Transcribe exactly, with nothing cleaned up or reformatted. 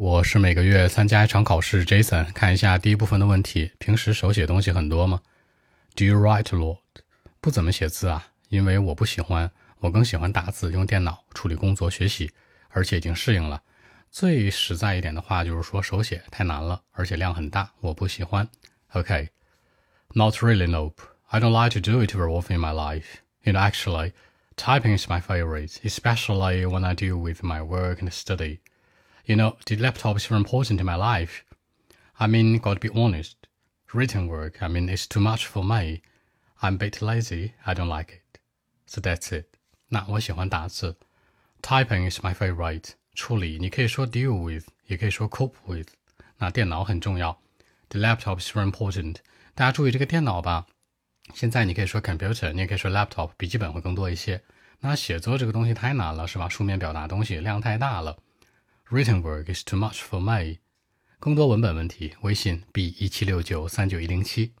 我是每个月参加一场考试 Jason， 看一下第一部分的问题。平时手写东西很多吗？ Do you write a lot？ 不怎么写字啊，因为我不喜欢，我更喜欢打字，用电脑处理工作学习，而且已经适应了。最实在一点的话就是说手写太难了，而且量很大，我不喜欢。Okay, not really, nope. I don't like to do it very often in my life. You know, actually, typing is my favorite, especially when I deal with my work and study.You know, the laptop is very important in my life. I mean, got to be honest. Written work, I mean, it's too much for me. I'm a bit lazy. I don't like it. So that's it. 那我喜欢打字。Typing is my favorite. 处理，你可以说 deal with， 也可以说 cope with. 那电脑很重要。The laptop is very important. 大家注意这个电脑吧。现在你可以说 computer， 你也可以说 laptop， 笔记本会更多一些。那写作这个东西太难了，是吧？书面表达东西量太大了。Written work is too much for me. 更多文本问题，微信 b 一七六九三九一零七。